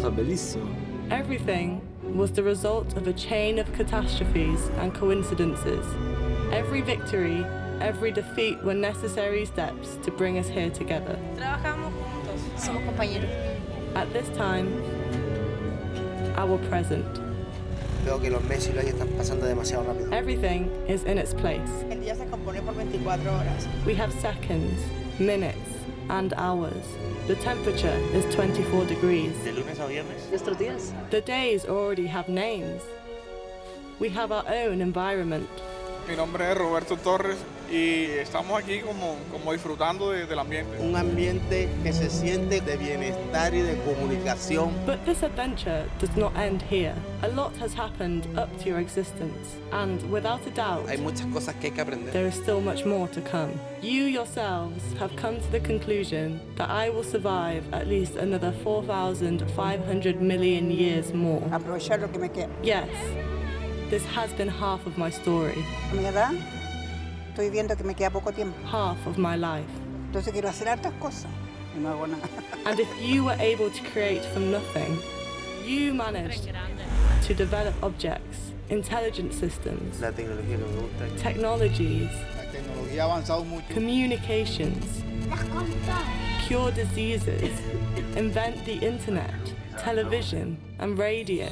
cosa bellissima. Everything was the result of a chain of catastrophes and coincidences. Every victory, every defeat were necessary steps to bring us here together. Trabajamos juntos, somos compañeros. At this time, our present. Veo que los meses y los años están pasando demasiado rápido. Everything is in its place. El día se compone por 24 horas. We have seconds, minutes, and hours. The temperature is 24 degrees. De lunes a viernes. Nuestros días. The days already have names. We have our own environment. Mi nombre es Roberto Torres y estamos aquí como disfrutando del ambiente. Un ambiente que se siente de bienestar y de comunicación. But this adventure does not end here. A lot has happened up to your existence, and without a doubt, Hay muchas cosas que hay que aprender. there is still much more to come. You yourselves have come to the conclusion that I will survive at least another 4,500 million years more. Aprovechar lo que me queda. Yes, this has been half of my story. A mi edad, estoy viendo que me queda poco tiempo. Half of my life. Entonces quiero hacer hartas cosas y no hago nada. And if you were able to create from nothing, you managed to develop objects, intelligent systems, La tecnología que me gusta. technologies, La tecnología ha avanzado mucho. communications, cure diseases, invent the internet, television, and radio.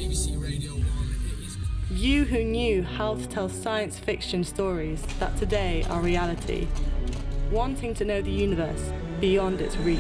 You who knew how to tell science fiction stories that today are reality, wanting to know the universe beyond its reach.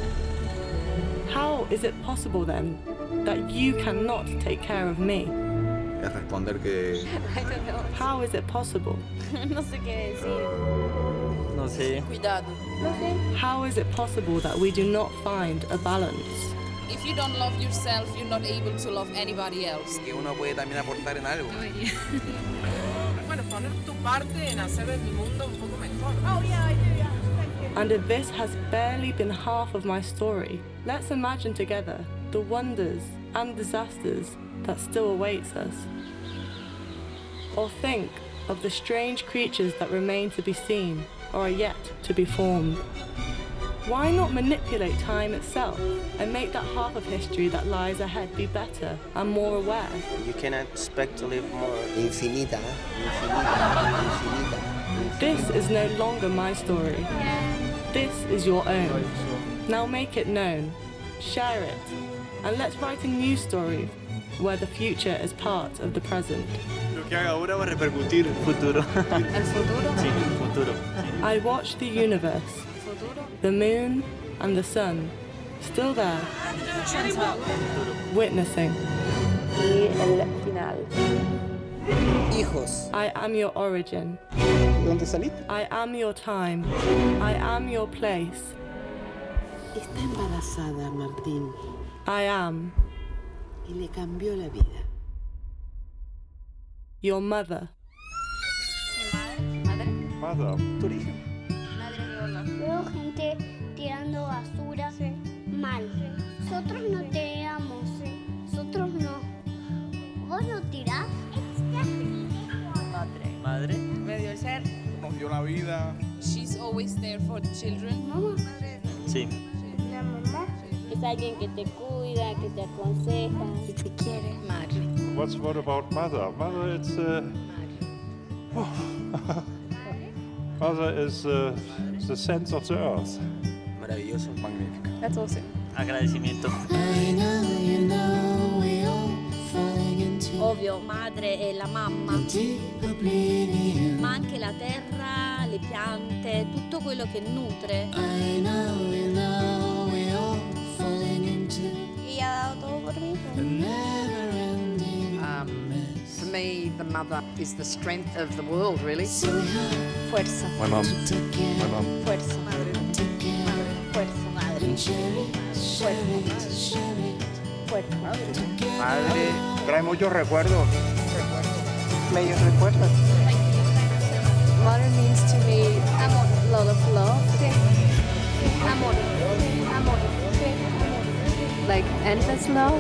How is it possible then that you cannot take care of me? Es responder que How is it possible? No sé qué decir. No sé. Cuidado. How is it possible that we do not find a balance? If you don't love yourself, you're not able to love anybody else. Que uno puede también aportar en algo. Bueno, poner tu parte en hacer el mundo un poco mejor. And if this has barely been half of my story, let's imagine together the wonders and disasters that still awaits us. Or think of the strange creatures that remain to be seen or are yet to be formed. Why not manipulate time itself and make that half of history that lies ahead be better and more aware? You cannot expect to live more. Infinita. This is no longer my story. This is your own. Now make it known, share it, and let's write a new story where the future is part of the present. Lo que haga ahora va a repercutir en el futuro. ¿El futuro? Sí, el futuro. I watch the universe, the moon and the sun, still there, witnessing. Y el final. Hijos. I am your origin. ¿Dónde saliste? I am your time. I am your place. Está embarazada, Martín, I am y le cambió la vida. your mother. Mother. Veo gente tirando basura mal. Nosotros no tiramos, nosotros no. ¿Vos no tirás? Madre. Me dio el ser. Nos dio la vida. She's always there for the children. Mamá. Sí. La mamá. Es alguien que te cuida, que te aconseja. Y te quiere. Madre. What about mother? Mother, it's mother is the sense of the earth. maravilloso, magnífico. That's awesome. Agradecimiento. Ovvio, madre è la mamma, ma anche la terra, le piante, tutto quello che nutre. Y ha dado todo por mí. For me, the mother is the strength of the world, really. Fuerza. My mom. Fuerza. Madre. Fuerza. Madre. Fuerza. Madre, trae muchos recuerdos. Bellos recuerdos. Mother means to me a lot of love. Amor. Amor. Like endless love.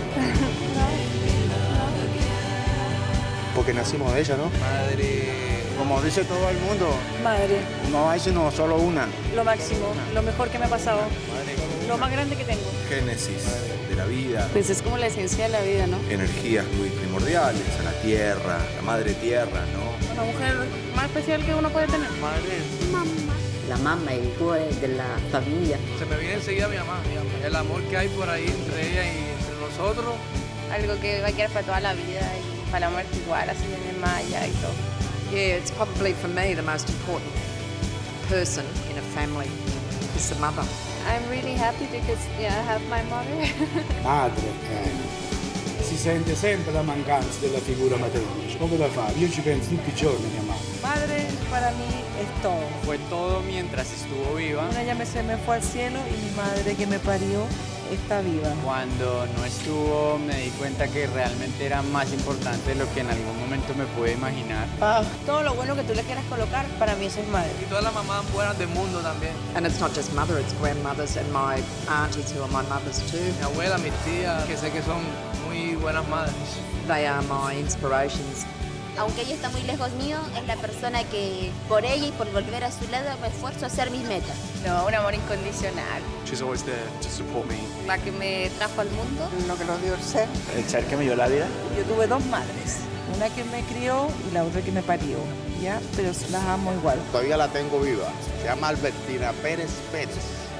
Porque nacimos de ella, ¿no? Madre, como dice todo el mundo, Madre, no hay sino solo una. lo máximo, lo mejor que me ha pasado. Madre, lo más grande que tengo. Génesis de la vida. Pues es como la esencia de la vida, ¿no? Energías muy primordiales, a la tierra, la madre tierra, ¿no? La mujer más especial que uno puede tener. Madre. Mamma. La mamma, el cuore de la familia. Se me viene enseguida mi mamá, el amor que hay por ahí entre ella y entre nosotros. Algo que va a quedar para toda la vida y para la muerte igual, así en el maya y todo. Yeah, it's probably for me the most important person in a family is the mother. I'm really happy because I have my mother. Madre, si sente sempre la mancanza della figura materna. Come da fare? Io ci penso tutti i giorni a mia mamma. Madre para mí es todo. Fue todo mientras estuvo viva. Ella se me fue al cielo y mi madre que me parió está viva. Cuando no estuvo me di cuenta que realmente era más importante de lo que en algún momento me pude imaginar. Todo lo bueno que tú le quieras colocar, para mí eso es madre. Y todas las mamás buenas del mundo también. And it's not just mother, it's grandmothers and my aunties who are my mothers too. Mi abuela, mis tías, que sé que son muy buenas madres. They are my inspirations. Aunque ella está muy lejos mío, es la persona que por ella y por volver a su lado me esfuerzo a hacer mis metas. No, un amor incondicional. She's always there to support me. La que me trajo al mundo. Lo que nos dio el ser. El ser que me dio la vida. Yo tuve dos madres, una que me crió y la otra que me parió, ¿ya? Pero las amo igual. Todavía la tengo viva. Se llama Albertina Pérez Pérez.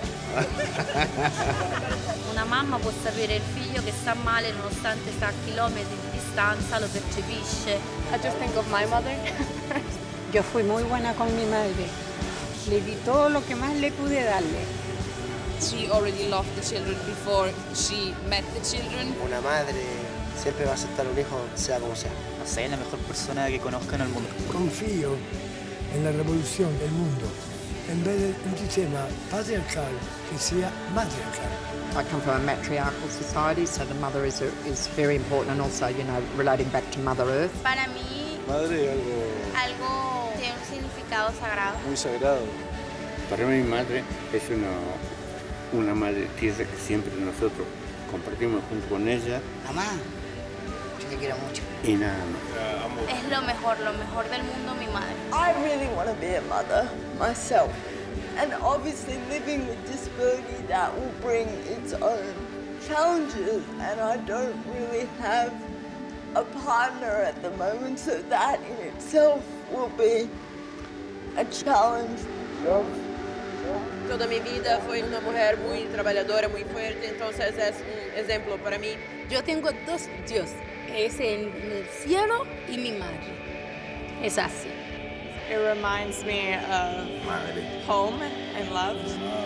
Una mamma può sapere il figlio che sta male nonostante sta a chilometri di distanza, lo percepisce. I just think of my mother. Yo fui muy buena con mi madre. Le di todo lo que más le pude darle. She already loved the children before she met the children. Una madre siempre va a aceptar un hijo, sea como sea. No sé, la mejor persona que conozca en el mundo. Confío en la revolución del mundo. En vez de un sistema patriarcal que sea matriarcal. I come from a matriarchal society, so the mother is very important, and also, relating back to Mother Earth. Para mí, Madre algo tiene un significado sagrado. muy sagrado. Para mí mi madre es una madre tierra que siempre nosotros compartimos junto con ella. Mamá, yo te quiero mucho. Y nada más. Es lo mejor del mundo, mi madre. I really want to be a mother myself. And obviously living with disability, that will bring its own challenges. And I don't really have a partner at the moment, so that in itself will be a challenge. Toda mi vida fui una mujer muy trabajadora, muy fuerte, entonces es un ejemplo para mí. Yo tengo dos dioses, es en el cielo y mi madre. Es así. It reminds me of Madre. home and love.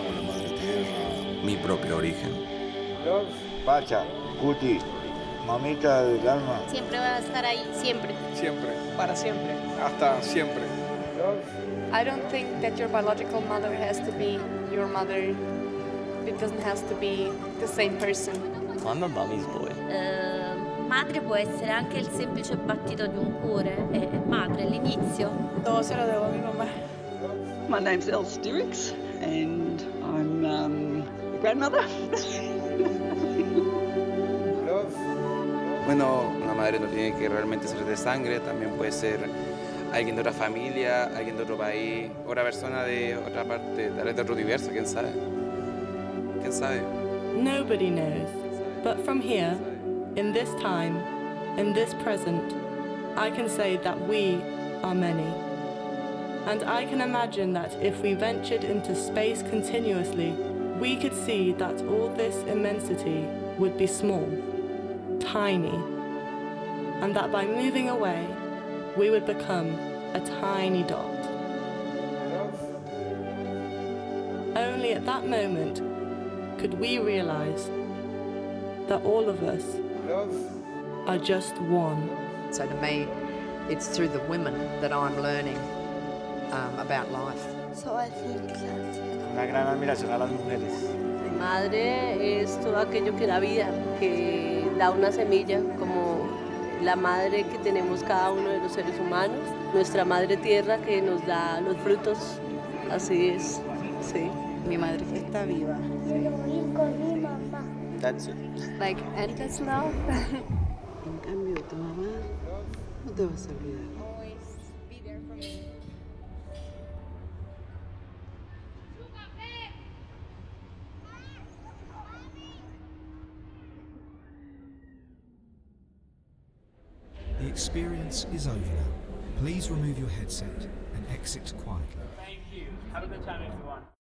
Mi propio origen. Pacha, Cuti, mamita del alma. Siempre va a estar ahí, siempre. Siempre. Para siempre. Hasta siempre. I don't think that your biological mother has to be your mother. It doesn't have to be the same person. I'm a mommy's boy. Madre può essere anche il semplice battito di un cuore, è madre, l'inizio. Todo se lo debo a mi mamá. My name's Elle Styrix, and I'm a grandmother. Bueno, una madre no tiene que realmente ser de sangre, también puede ser alguien de otra familia, alguien de otro país, otra persona de otra parte, tal vez de otro universo, quién sabe. ¿Quién sabe? Nobody knows, but from here, in this time, in this present, I can say that we are many. And I can imagine that if we ventured into space continuously, we could see that all this immensity would be small, tiny, and that by moving away, we would become a tiny dot. Only at that moment could we realize that all of us are just one. So to me, it's through the women that I'm learning about life. So I think that Una gran admiración a las mujeres. Mi madre es todo aquello que da vida, que da una semilla, como la madre que tenemos cada uno de los seres humanos, nuestra madre tierra que nos da los frutos, así es, sí, mi madre. Está viva. That's it. Like endless love. En cambio, tu mamá no te vas a olvidar. experience is over now. Please remove your headset and exit quietly. Thank you. Have a good time, everyone.